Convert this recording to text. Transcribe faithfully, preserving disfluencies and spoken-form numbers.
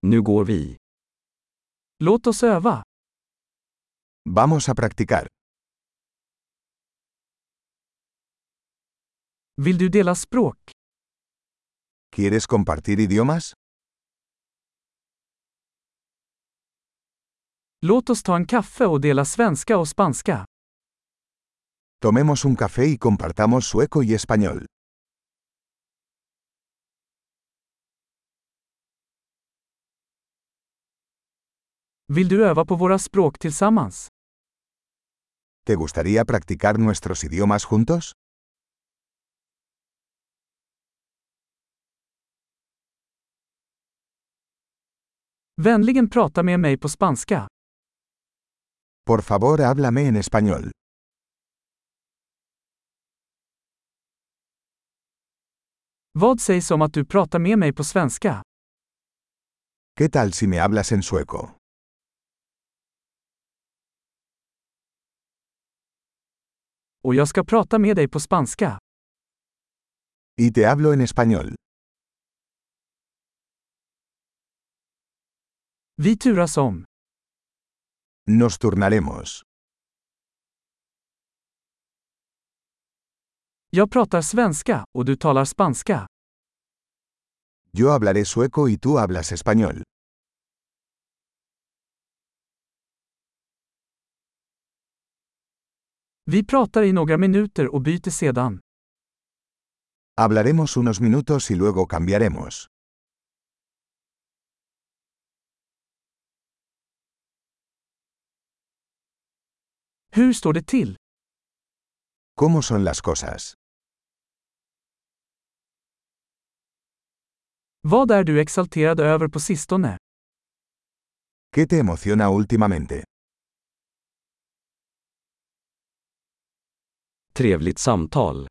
Nu går vi. Låt oss öva. Vamos a practicar. Vill du dela språk? ¿Quieres compartir idiomas? Låt oss ta en kaffe och dela svenska och spanska. Tomemos un café y compartamos sueco y español. Vill du öva på våra språk tillsammans? ¿Te gustaría practicar nuestros idiomas juntos? Vänligen prata med mig på spanska. Por favor, háblame en español. Vad sägs om att du pratar med mig på svenska? ¿Qué tal si me hablas en sueco? Och jag ska prata med dig på spanska. Y te hablo en español. Vi turas om. Nos turnaremos. Jag pratar svenska och du talar spanska. Yo hablaré sueco y tú hablas español. Vi pratar i några minuter och byter sedan. Hablaremos unos minutos y luego cambiaremos. Hur står det till? ¿Cómo son las cosas? Vad är du exalterad över på sistone? ¿Qué te emociona últimamente? Trevligt samtal.